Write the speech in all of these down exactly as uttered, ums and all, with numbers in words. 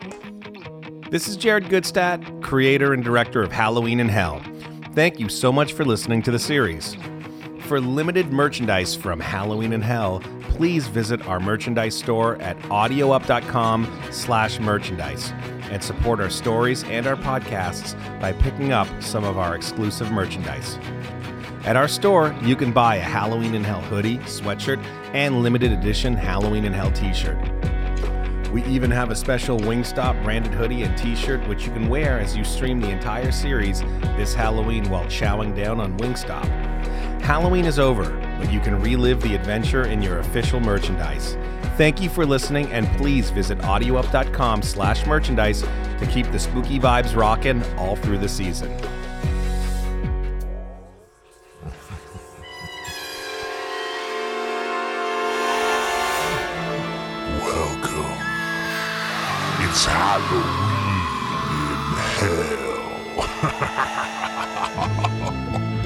This is Jared Goodstadt, creator and director of Halloween in Hell. Thank you so much for listening to the series. For limited merchandise from Halloween in Hell, please visit our merchandise store at audioup.com slash merchandise and support our stories and our podcasts by picking up some of our exclusive merchandise. At our store, you can buy a Halloween in Hell hoodie, sweatshirt, and limited edition Halloween in Hell t-shirt. We even have a special Wingstop branded hoodie and t-shirt which you can wear as you stream the entire series this Halloween while chowing down on Wingstop. Halloween is over, but you can relive the adventure in your official merchandise. Thank you for listening, and please visit audioup.com slash merchandise to keep the spooky vibes rocking all through the season. Welcome. It's Halloween in Hell.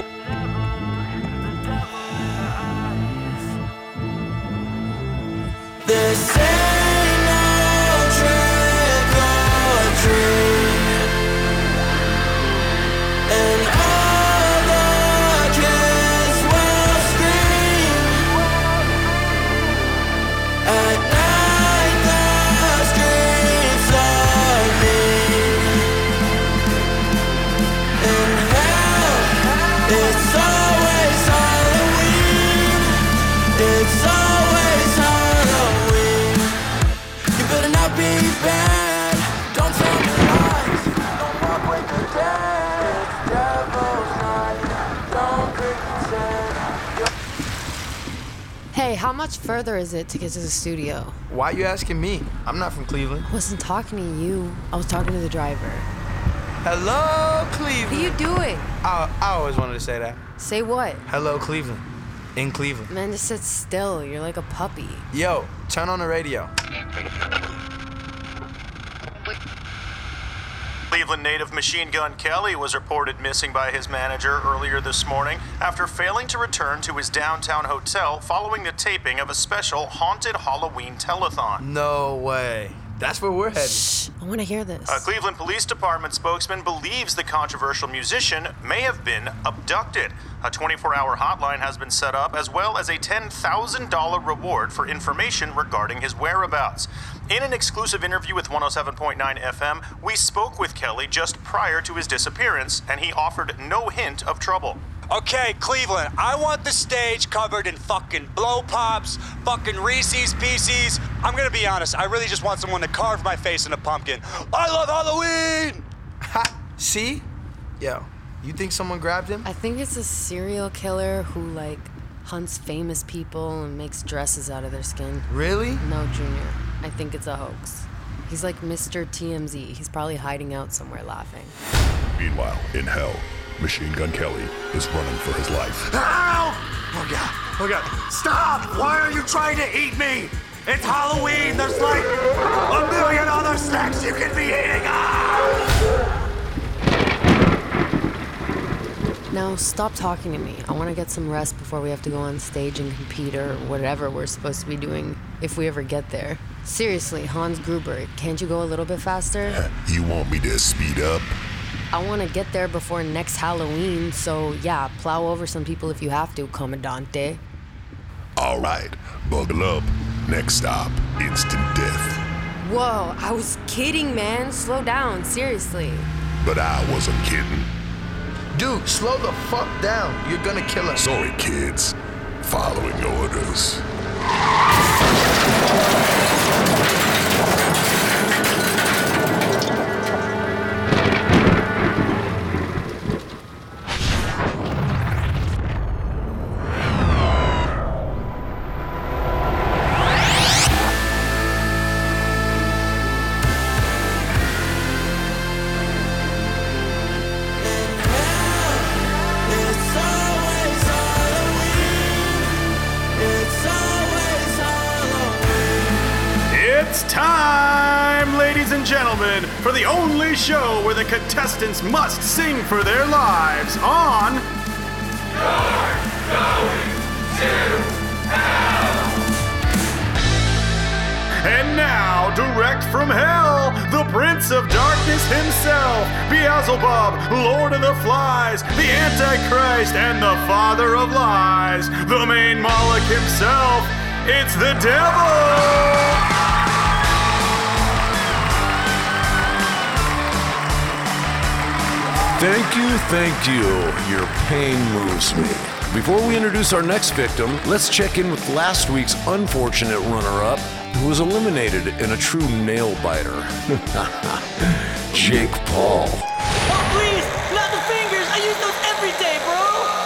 This ain't no trick or treat, and all the kids will scream. At night the streets are mean. In hell, it's always Halloween. It's always Halloween. Be bad, don't tell me lies, don't walk with the dead, it's devil's night, don't pretend. Hey, how much further is it to get to the studio? Why are you asking me? I'm not from Cleveland. I wasn't talking to you, I was talking to the driver. Hello, Cleveland. What are you doing? I, I always wanted to say that. Say what? Hello, Cleveland. In Cleveland. Man, just sit still, you're like a puppy. Yo, turn on the radio. Cleveland native Machine Gun Kelly was reported missing by his manager earlier this morning after failing to return to his downtown hotel following the taping of a special haunted Halloween telethon. No way. That's where we're headed. Shh, I want to hear this. A Cleveland Police Department spokesman believes the controversial musician may have been abducted. A twenty-four hour hotline has been set up, as well as a ten thousand dollars reward for information regarding his whereabouts. In an exclusive interview with one oh seven point nine F M, we spoke with Kelly just prior to his disappearance, and he offered no hint of trouble. Okay, Cleveland, I want the stage covered in fucking blow pops, fucking Reese's Pieces. I'm gonna be honest, I really just want someone to carve my face in a pumpkin. I love Halloween! Ha! See? Yo, you think someone grabbed him? I think it's a serial killer who, like, hunts famous people and makes dresses out of their skin. Really? No, Junior. I think it's a hoax. He's like Mister T M Z. He's probably hiding out somewhere laughing. Meanwhile, in Hell, Machine Gun Kelly is running for his life. Ow! Oh God, oh God, stop! Why are you trying to eat me? It's Halloween, there's like a million other snacks you can be eating! Ah! Now, stop talking to me. I want to get some rest before we have to go on stage and compete or whatever we're supposed to be doing if we ever get there. Seriously, Hans Gruber, can't you go a little bit faster? You want me to speed up? I want to get there before next Halloween, so yeah, plow over some people if you have to, Commandante. All right, buckle up. Next stop, instant death. Whoa, I was kidding, man. Slow down, seriously. But I wasn't kidding. Dude, slow the fuck down. You're gonna kill us. Sorry, kids. Following orders. It's time, ladies and gentlemen, for the only show where the contestants must sing for their lives on... You're going to hell! And now, direct from hell, the Prince of Darkness himself, Beelzebub, Lord of the Flies, the Antichrist, and the Father of Lies, the main Moloch himself, it's the devil! Thank you, thank you. Your pain moves me. Before we introduce our next victim, let's check in with last week's unfortunate runner-up, who was eliminated in a true nail-biter. Jake Paul. Oh, please! Not the fingers! I use those every day, bro!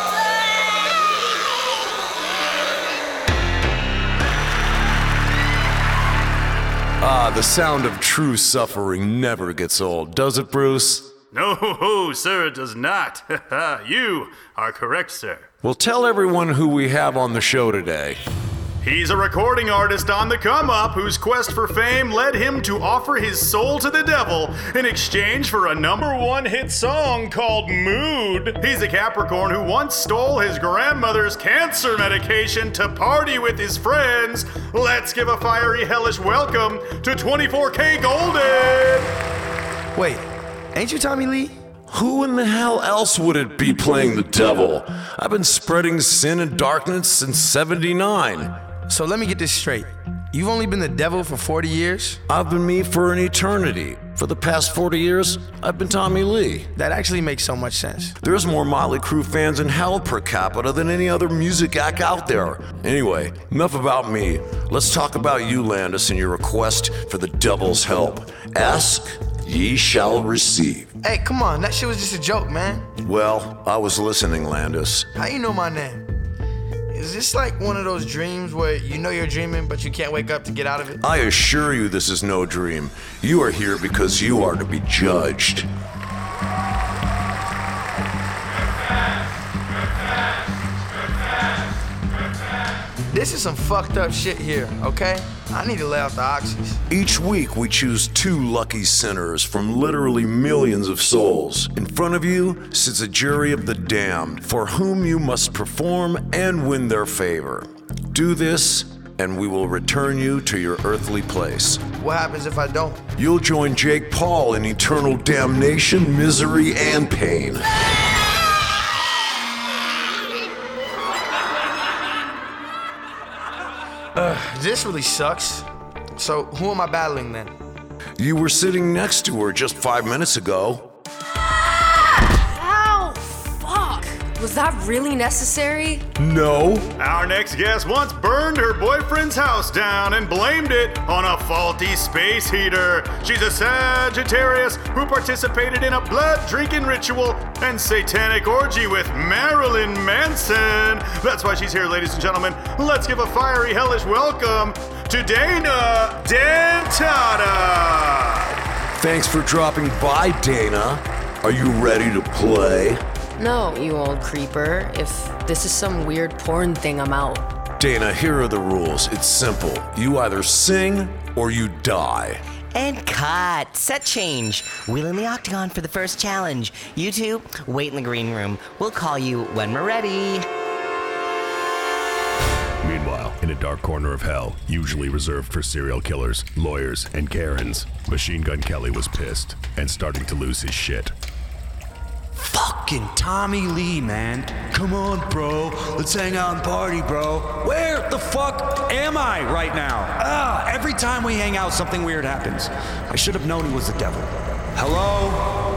Ah, the sound of true suffering never gets old, does it, Bruce? No, sir, it does not. You are correct, sir. Well, tell everyone who we have on the show today. He's a recording artist on the come-up whose quest for fame led him to offer his soul to the devil in exchange for a number one hit song called Mood. He's a Capricorn who once stole his grandmother's cancer medication to party with his friends. Let's give a fiery, hellish welcome to twenty-four K Golden! Wait, ain't you Tommy Lee? Who in the hell else would it be playing the devil? I've been spreading sin and darkness since seventy-nine. So let me get this straight. You've only been the devil for forty years? I've been me for an eternity. For the past forty years, I've been Tommy Lee. That actually makes so much sense. There's more Motley Crue fans in hell per capita than any other music act out there. Anyway, enough about me. Let's talk about you, Landis, and your request for the devil's help. Ask, ye shall receive. Hey, come on, that shit was just a joke, man. Well, I was listening, Landis. How you know my name? Is this like one of those dreams where you know you're dreaming, but you can't wake up to get out of it? I assure you this is no dream. You are here because you are to be judged. This is some fucked up shit here, okay? I need to lay off the oxys. Each week we choose two lucky sinners from literally millions of souls. In front of you sits a jury of the damned, for whom you must perform and win their favor. Do this, and we will return you to your earthly place. What happens if I don't? You'll join Jake Paul in eternal damnation, misery, and pain. Uh, this really sucks. So who am I battling then? You were sitting next to her just five minutes ago. Ow! Fuck! Was that really necessary? No. Our next guest once burned her boyfriend's house down and blamed it on a faulty space heater. She's a Sagittarius who participated in a blood-drinking ritual and satanic orgy with Marilyn Manson. That's why she's here, ladies and gentlemen. Let's give a fiery, hellish welcome to Dana Dentata. Thanks for dropping by, Dana. Are you ready to play? No, you old creeper. If this is some weird porn thing, I'm out. Dana, here are the rules. It's simple. You either sing or you die. And cut. Set change. Wheel in the octagon for the first challenge. You two, wait in the green room. We'll call you when we're ready. Meanwhile, in a dark corner of hell, usually reserved for serial killers, lawyers, and Karens, Machine Gun Kelly was pissed and starting to lose his shit. Fucking Tommy Lee, man. Come on, bro. Let's hang out and party, bro. Where the fuck am I right now? Ah, every time we hang out, something weird happens. I should have known he was the devil. Hello?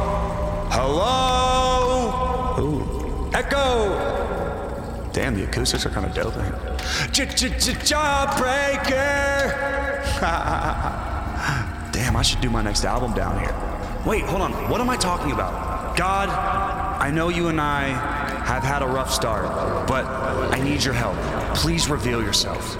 Hello? Ooh. Echo! Damn, the acoustics are kind of dope. Jawbreaker! Damn, I should do my next album down here. Wait, hold on. What am I talking about? God, I know you and I have had a rough start, but I need your help. Please reveal yourself.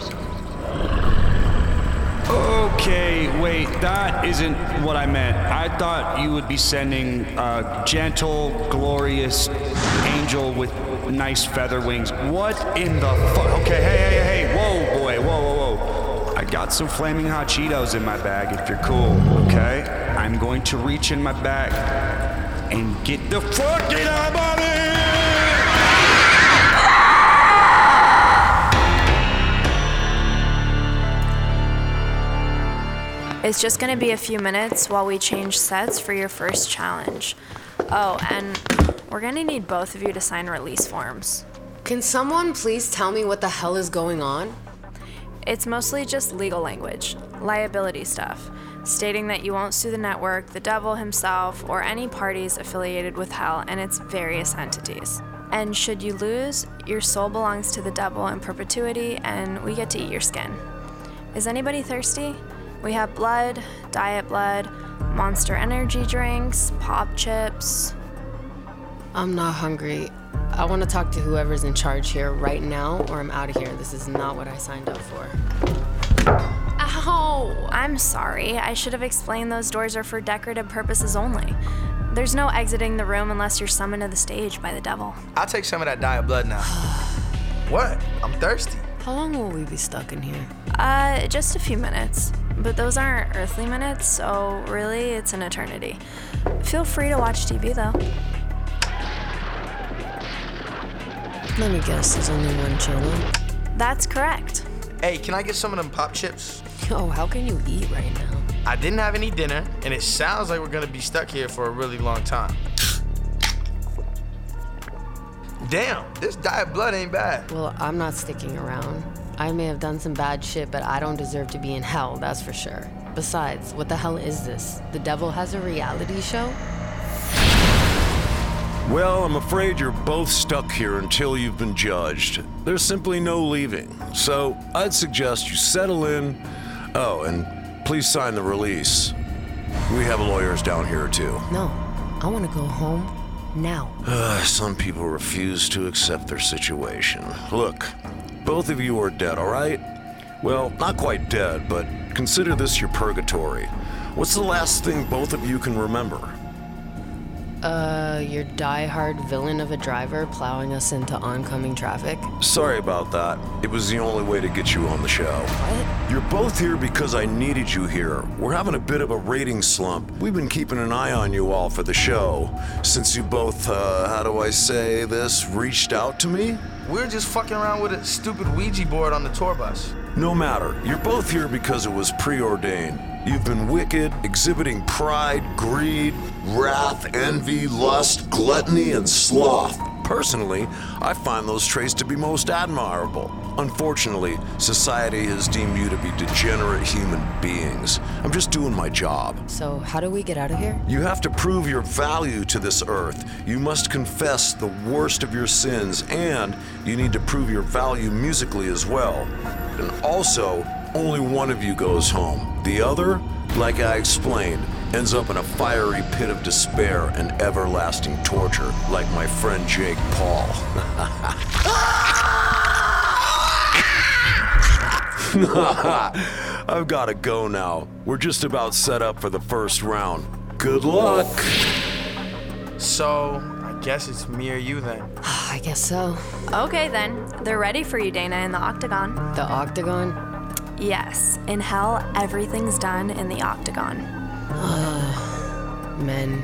Okay, wait, that isn't what I meant. I thought you would be sending a gentle, glorious angel with nice feather wings. What in the fuck? Okay, hey, hey, hey, whoa, boy, whoa, whoa, whoa. I got some flaming hot Cheetos in my bag if you're cool, okay? I'm going to reach in my bag and get the fucking out of here! It's just gonna be a few minutes while we change sets for your first challenge. Oh, and we're gonna need both of you to sign release forms. Can someone please tell me what the hell is going on? It's mostly just legal language, liability stuff, stating that you won't sue the network, the devil himself, or any parties affiliated with hell and its various entities. And should you lose, your soul belongs to the devil in perpetuity and we get to eat your skin. Is anybody thirsty? We have blood, diet blood, Monster energy drinks, pop chips. I'm not hungry. I want to talk to whoever's in charge here right now, or I'm out of here. This is not what I signed up for. Ow! I'm sorry. I should have explained those doors are for decorative purposes only. There's no exiting the room unless you're summoned to the stage by the devil. I'll take some of that diet blood now. What? I'm thirsty. How long will we be stuck in here? Uh, just a few minutes. But those aren't earthly minutes, so really, it's an eternity. Feel free to watch T V, though. Let me guess, there's only one channel? That's correct. Hey, can I get some of them pop chips? Yo, how can you eat right now? I didn't have any dinner, and it sounds like we're gonna be stuck here for a really long time. Damn, this diet blood ain't bad. Well, I'm not sticking around. I may have done some bad shit, but I don't deserve to be in hell, that's for sure. Besides, what the hell is this? The devil has a reality show? Well, I'm afraid you're both stuck here until you've been judged. There's simply no leaving. So I'd suggest you settle in. Oh, and please sign the release. We have lawyers down here too. No, I want to go home now. Uh, some people refuse to accept their situation. Look, both of you are dead, all right? Well, not quite dead, but consider this your purgatory. What's the last thing both of you can remember? Uh, your die-hard villain of a driver plowing us into oncoming traffic? Sorry about that. It was the only way to get you on the show. What? You're both here because I needed you here. We're having a bit of a rating slump. We've been keeping an eye on you all for the show. Since you both, uh, how do I say this, reached out to me? We were just fucking around with a stupid Ouija board on the tour bus. No matter. You're both here because it was preordained. You've been wicked, exhibiting pride, greed, wrath, envy, lust, gluttony, and sloth. Personally, I find those traits to be most admirable. Unfortunately, society has deemed you to be degenerate human beings. I'm just doing my job. So, how do we get out of here? You have to prove your value to this earth. You must confess the worst of your sins, and you need to prove your value musically as well. And also, only one of you goes home. The other, like I explained, ends up in a fiery pit of despair and everlasting torture, like my friend Jake Paul. I've got to go now. We're just about set up for the first round. Good luck. So, I guess it's me or you then. I guess so. Okay then, they're ready for you, Dana, in the Octagon. The Octagon? Yes, in hell, everything's done in the Octagon. Ugh, men.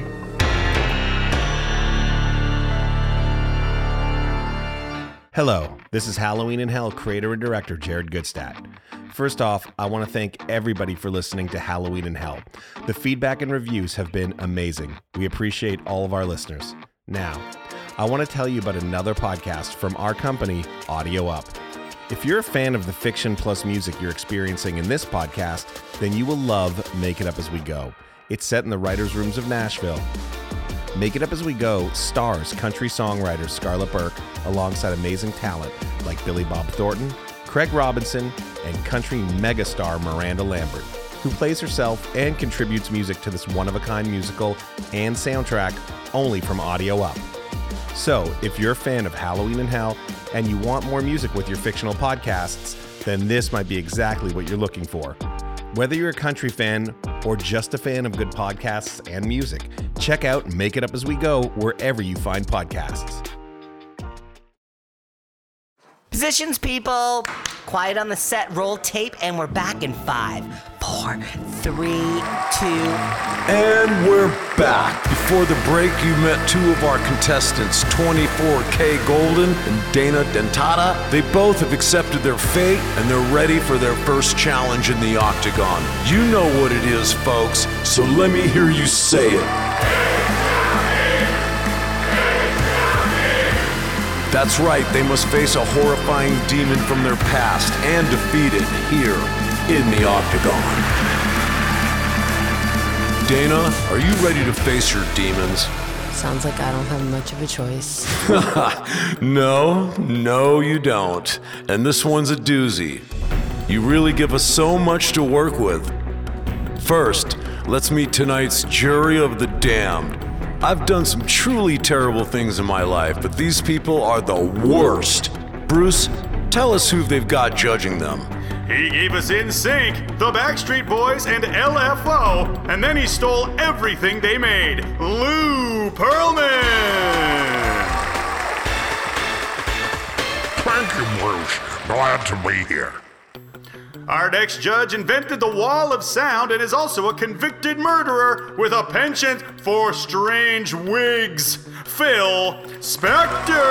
Hello, this is Halloween in Hell creator and director Jared Goodstadt. First off, I want to thank everybody for listening to Halloween in Hell. The feedback and reviews have been amazing. We appreciate all of our listeners. Now, I want to tell you about another podcast from our company, Audio Up. If you're a fan of the fiction plus music you're experiencing in this podcast, then you will love Make It Up As We Go. It's set in the writers' rooms of Nashville. Make It Up As We Go stars country songwriter Scarlett Burke alongside amazing talent like Billy Bob Thornton, Craig Robinson, and country megastar Miranda Lambert, who plays herself and contributes music to this one-of-a-kind musical and soundtrack only from Audio Up. So, if you're a fan of Halloween in Hell and you want more music with your fictional podcasts, then this might be exactly what you're looking for. Whether you're a country fan or just a fan of good podcasts and music, check out Make It Up As We Go wherever you find podcasts. Positions, people. Quiet on the set, roll tape, and we're back in five, four, three, two. And we're back. Before the break, you met two of our contestants, twenty-four K Golden and Dana Dentata. They both have accepted their fate, and they're ready for their first challenge in the Octagon. You know what it is, folks, so let me hear you say it. That's right, they must face a horrifying demon from their past and defeat it here in the Octagon. Dana, are you ready to face your demons? Sounds like I don't have much of a choice. No, no you don't. And this one's a doozy. You really give us so much to work with. First, let's meet tonight's jury of the damned. I've done some truly terrible things in my life, but these people are the worst. Bruce, tell us who they've got judging them. He gave us N Sync, the Backstreet Boys, and L F O, and then he stole everything they made. Lou Pearlman! Thank you, Bruce. Glad to be here. Our next judge invented the wall of sound and is also a convicted murderer with a penchant for strange wigs. Phil Spector!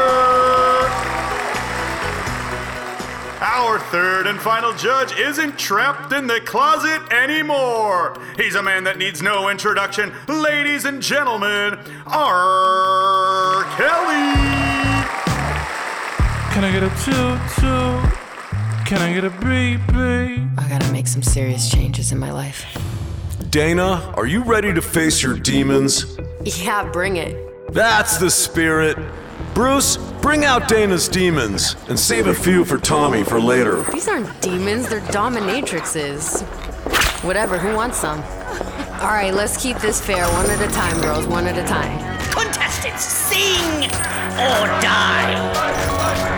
Our third and final judge isn't trapped in the closet anymore. He's a man that needs no introduction. Ladies and gentlemen, R. Kelly! Can I get a toot-toot? Can I get a beep beep? I gotta make some serious changes in my life. Dana, are you ready to face your demons? Yeah, bring it. That's the spirit. Bruce, bring out Dana's demons and save a few for Tommy for later. These aren't demons, they're dominatrixes. Whatever, who wants some? All right, let's keep this fair, one at a time, girls, one at a time. Contestants, sing or die.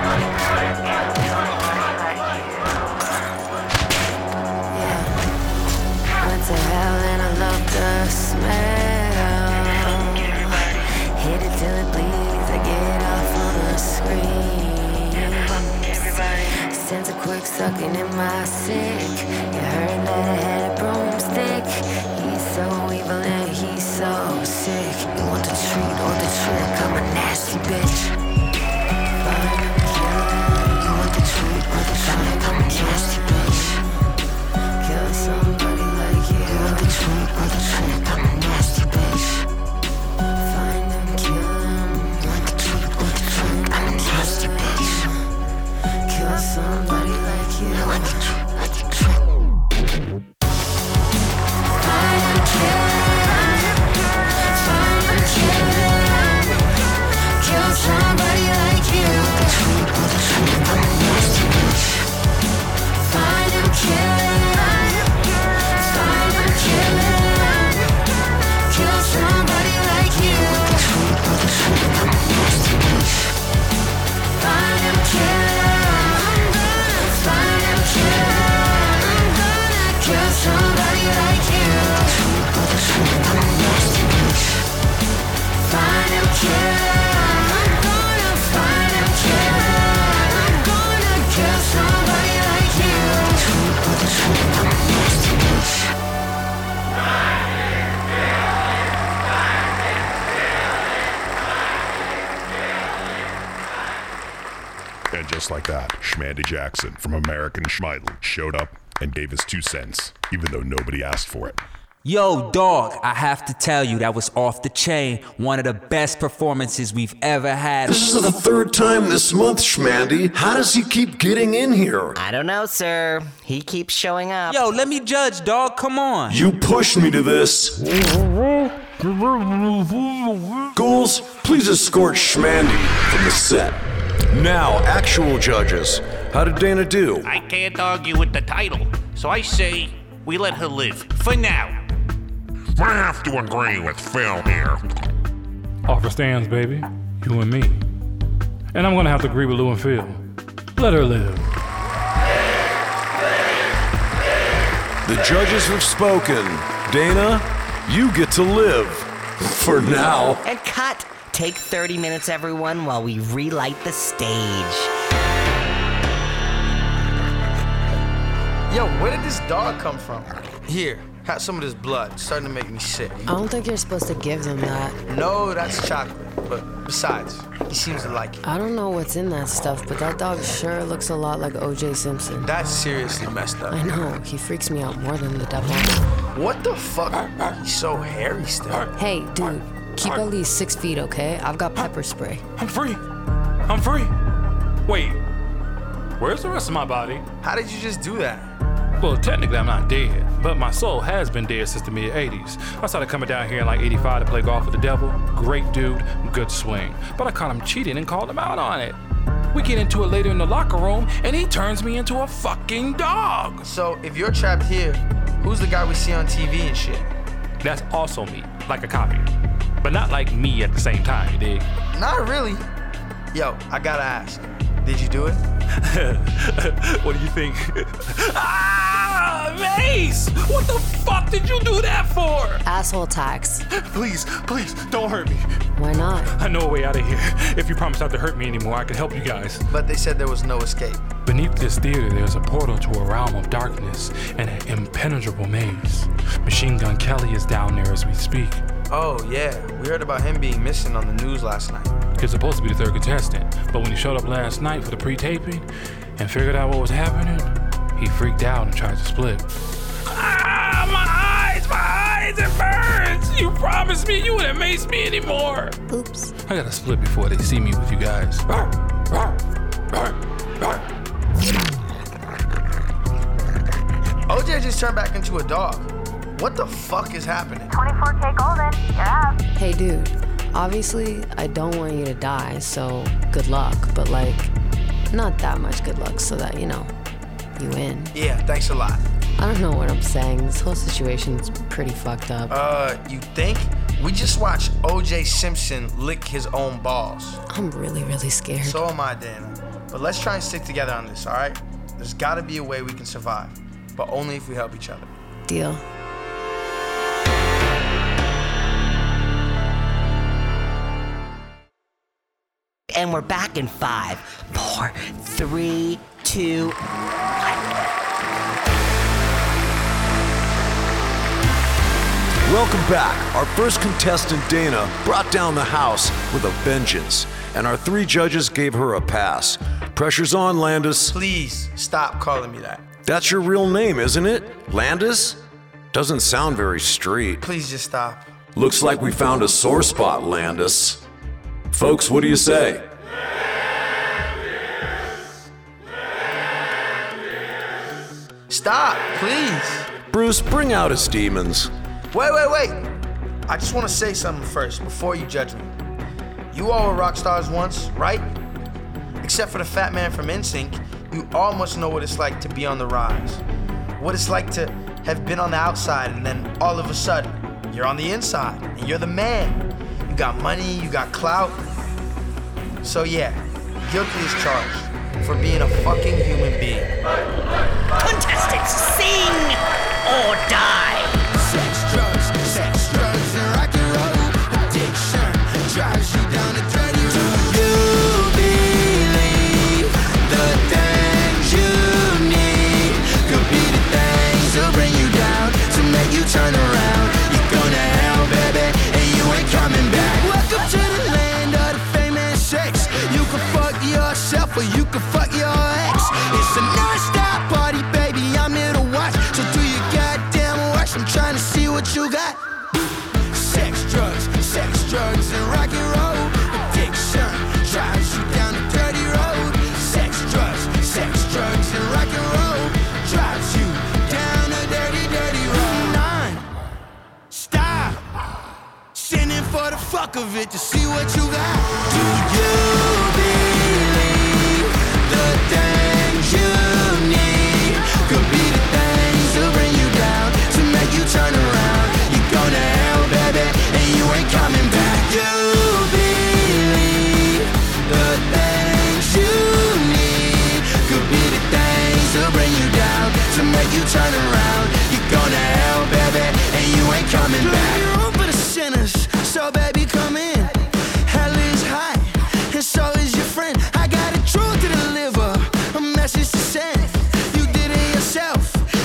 To hell and I love the smell. Hit it till it bleeds. I get off on the screen. Sense a quick sucking in my sick. You heard that I had a broomstick. He's so evil and he's so sick. You want the treat or the trick? I'm a nasty bitch. Fine, I'm killing. You want the treat or the trick? I'm a nasty bitch. Kill somebody. The treat or the trick, I'm a nasty bitch. Find them, kill them. Want the treat or the trick, I'm a nasty bitch. Kill somebody like you. Want the treat or the trick. Find them, kill them. Find them, kill them. Kill somebody like you. Want the treat or the trick, I'm a nasty bitch. Find them, kill them. Kill somebody like you. I'm a nasty bitch. Find him, kill him. I'm gonna find him, kill him. I'm gonna kill somebody like you. I'm a nasty bitch. Find him, kill him. I'm gonna find him, kill him. I'm gonna kill somebody like you. I'm a nasty bitch. And just like that, Schmandy Jackson from American Schmeidel showed up and gave his two cents, even though nobody asked for it. Yo, dog, I have to tell you, that was off the chain. One of the best performances we've ever had. This is the third time this month, Schmandy. How does he keep getting in here? I don't know, sir. He keeps showing up. Yo, let me judge, dog. Come on. You pushed me to this. Ghouls, please escort Schmandy from the set. Now, actual judges. How did Dana do? I can't argue with the title, so I say we let her live. For now. I have to agree with Phil here. Offer stands, baby. You and me. And I'm gonna have to agree with Lou and Phil. Let her live. The judges have spoken. Dana, you get to live. For now. And cut. Take thirty minutes, everyone, while we relight the stage. Yo, where did this dog come from? Here, have some of this blood. It's starting to make me sick. I don't think you're supposed to give them that. No, that's chocolate. But besides, he seems to like it. I don't know what's in that stuff, but that dog sure looks a lot like O J Simpson. That's seriously messed up. I know. He freaks me out more than the devil. What the fuck? He's so hairy still. Hey, dude, keep at least six feet, okay? I've got pepper spray. I'm free. I'm free. Wait, where's the rest of my body? How did you just do that? Well, technically I'm not dead, but my soul has been dead since the mid eighties. I started coming down here in like eighty-five to play golf with the devil. Great dude, good swing. But I caught him cheating and called him out on it. We get into it later in the locker room, and he turns me into a fucking dog. So if you're trapped here, who's the guy we see on T V and shit? That's also me, like a copy. But not like me at the same time, you dig? Not really. Yo, I gotta ask, did you do it? What do you think? Ah, Mace! What the fuck did you do that for? Asshole tax. Please, please, don't hurt me. Why not? I know a way out of here. If you promise not to hurt me anymore, I can help you guys. But they said there was no escape. Beneath this theater, there's a portal to a realm of darkness and an impenetrable maze. Machine Gun Kelly is down there as we speak. Oh, yeah. We heard about him being missing on the news last night. He's supposed to be the third contestant, but when he showed up last night for the pre-taping and figured out what was happening, he freaked out and tried to split. Ah, my eyes, my eyes, it burns! You promised me you wouldn't mace me anymore. Oops. I gotta split before they see me with you guys. O J just turned back into a dog. What the fuck is happening? twenty-four K Golden, you're out. Hey, dude. Obviously, I don't want you to die, so good luck. But, like, not that much good luck so that, you know, you win. Yeah, thanks a lot. I don't know what I'm saying. This whole situation's pretty fucked up. Uh, you think? We just watched O J Simpson lick his own balls. I'm really, really scared. So am I, Dana. But let's try and stick together on this, all right? There's gotta be a way we can survive, but only if we help each other. Deal. And we're back in five, four, three, two, one. Welcome back. Our first contestant, Dana, brought down the house with a vengeance, and our three judges gave her a pass. Pressure's on, Landis. Please stop calling me that. That's your real name, isn't it? Landis? Doesn't sound very street. Please just stop. Looks like we found a sore spot, Landis. Folks, what do you say? Stop, please. Bruce, bring out his demons. Wait, wait, wait. I just want to say something first before you judge me. You all were rock stars once, right? Except for the fat man from N Sync, you all must know what it's like to be on the rise. What it's like to have been on the outside and then all of a sudden, you're on the inside and you're the man. You got money, you got clout. So yeah, guilty as charged for being a fucking human being. Contestants, sing or die. Sex, drugs, sex, drugs, and rock and roll. Addiction drives you down a dirty road. Do you believe the things you need could be the things that'll bring you down to make you turn around? You're going to hell, baby, and you ain't coming back. Welcome to the land of the famous sex. You can fuck yourself or you can fuck your ex. It's a non-stop party, baby, I'm here to watch. So do your goddamn worst, I'm trying to see what you got. Sex, drugs, sex, drugs, and rock and roll. Addiction drives you down a dirty road. Sex, drugs, sex, drugs, and rock and roll drives you down a dirty, dirty road. Nine, stop. Sinning for the fuck of it to see what you got. Do you believe the things you need could be the things that'll bring you down to make you turn around? You're going to hell, baby, and you ain't coming back. You believe the things you need could be the things that'll bring you down to make you turn around. You're going to hell, baby, and you ain't coming back. You're room for the sinners, so baby, come in. Hell is hot, and so is your friend. I got a truth to deliver, a message to send. You did it yourself,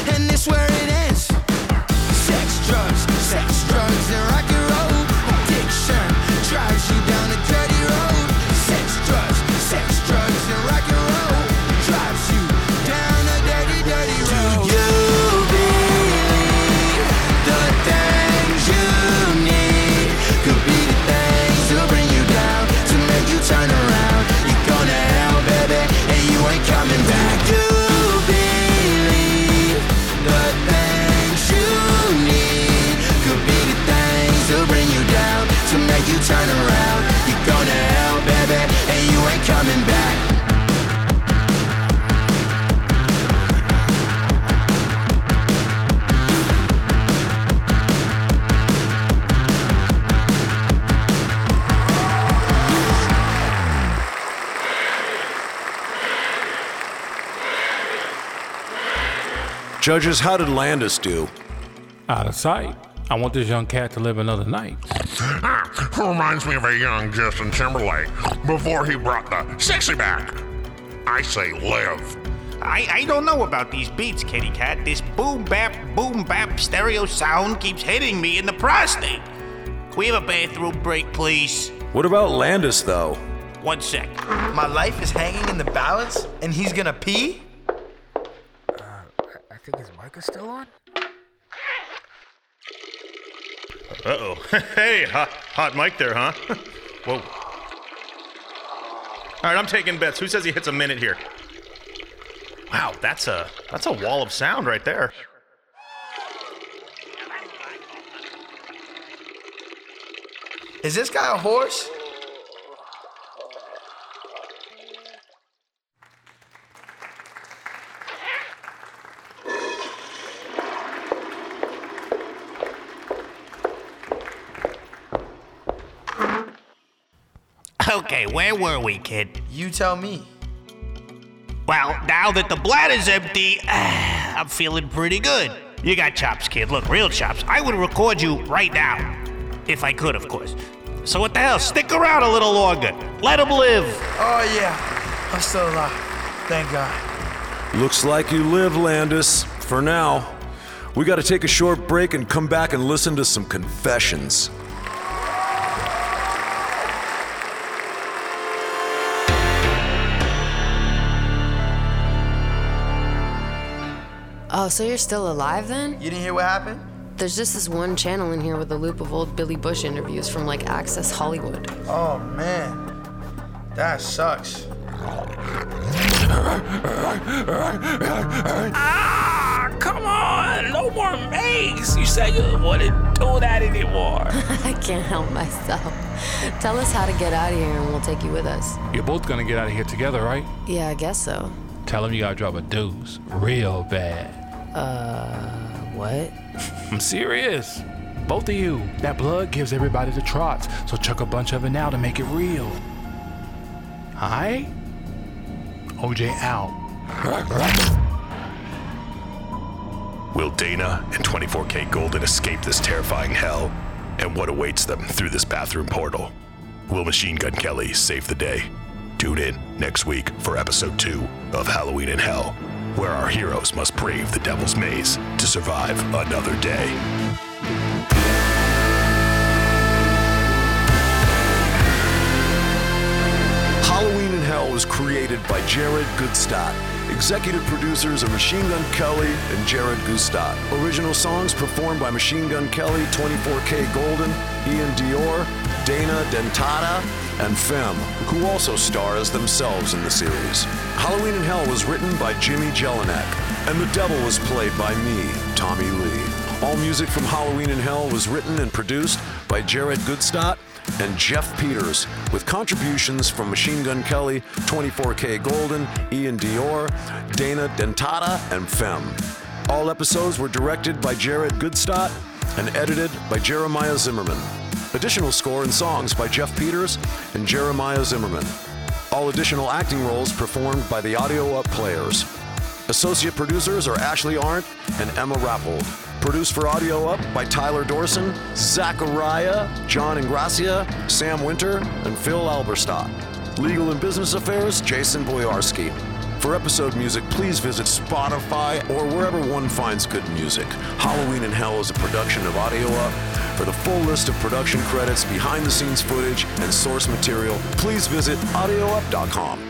drugs, and rock and roll. Addiction drives you down a dirty road. Sex, drugs, sex, drugs, and rock and roll drives you down a dirty, dirty road. Do you believe the things you need could be the things to bring you down, to make you turn around? You're gonna hell, baby, and you ain't coming back. Do you believe the things you need could be the things to bring you down, to make you turn around? You're gonna hell, baby, and you ain't coming back. Judges, how did Landis do? Out of sight. I want this young cat to live another night. Ah, reminds me of a young Justin Timberlake before he brought the sexy back. I say live. I, I don't know about these beats, kitty cat. This boom bap, boom bap stereo sound keeps hitting me in the prostate. Can we have a bathroom break, please? What about Landis, though? One sec. My life is hanging in the balance, and he's gonna pee? I think his mic is still on. Uh-oh. Hey, hot, hot mic there, huh? Whoa. All right, I'm taking bets. Who says he hits a minute here? Wow, that's a that's a wall of sound right there. Is this guy a horse? Okay, where were we, kid? You tell me. Well, now that the bladder's empty, I'm feeling pretty good. You got chops, kid. Look, real chops. I would record you right now. If I could, of course. So what the hell? Stick around a little longer. Let him live. Oh, yeah. I'm still alive. Thank God. Looks like you live, Landis. For now. We gotta take a short break and come back and listen to some confessions. Oh, so you're still alive then? You didn't hear what happened? There's just this one channel in here with a loop of old Billy Bush interviews from like Access Hollywood. Oh, man. That sucks. Ah, come on, no more makes. You said you wouldn't do that anymore. I can't help myself. Tell us how to get out of here and we'll take you with us. You're both gonna get out of here together, right? Yeah, I guess so. Tell him you gotta drop a deuce real bad. Uh, what? I'm serious. Both of you. That blood gives everybody the trots, so chuck a bunch of it now to make it real. Alright? O J out. Will Dana and twenty-four K Golden escape this terrifying hell? And what awaits them through this bathroom portal? Will Machine Gun Kelly save the day? Tune in next week for episode two of Halloween in Hell, where our heroes must brave the Devil's Maze to survive another day. Halloween in Hell was created by Jared Goodstadt. Executive producers are Machine Gun Kelly and Jared Goodstadt. Original songs performed by Machine Gun Kelly, twenty-four K Golden, Ian Dior, Dana Dentata, and Femme, who also star as themselves in the series. Halloween in Hell was written by Jimmy Jelinek, and the devil was played by me, Tommy Lee. All music from Halloween in Hell was written and produced by Jared Goodstadt and Jeff Peters, with contributions from Machine Gun Kelly, twenty-four K Golden, Ian Dior, Dana Dentata, and Femme. All episodes were directed by Jared Goodstadt and edited by Jeremiah Zimmerman. Additional score and songs by Jeff Peters and Jeremiah Zimmerman. All additional acting roles performed by the Audio Up Players. Associate producers are Ashley Arndt and Emma Rappold. Produced for Audio Up by Tyler Dorson, Zachariah, John Ingracia, Sam Winter, and Phil Alberstadt. Legal and Business Affairs, Jason Boyarsky. For episode music, please visit Spotify or wherever one finds good music. Halloween in Hell is a production of Audio Up for For the full list of production credits, behind-the-scenes footage, and source material, please visit audio up dot com.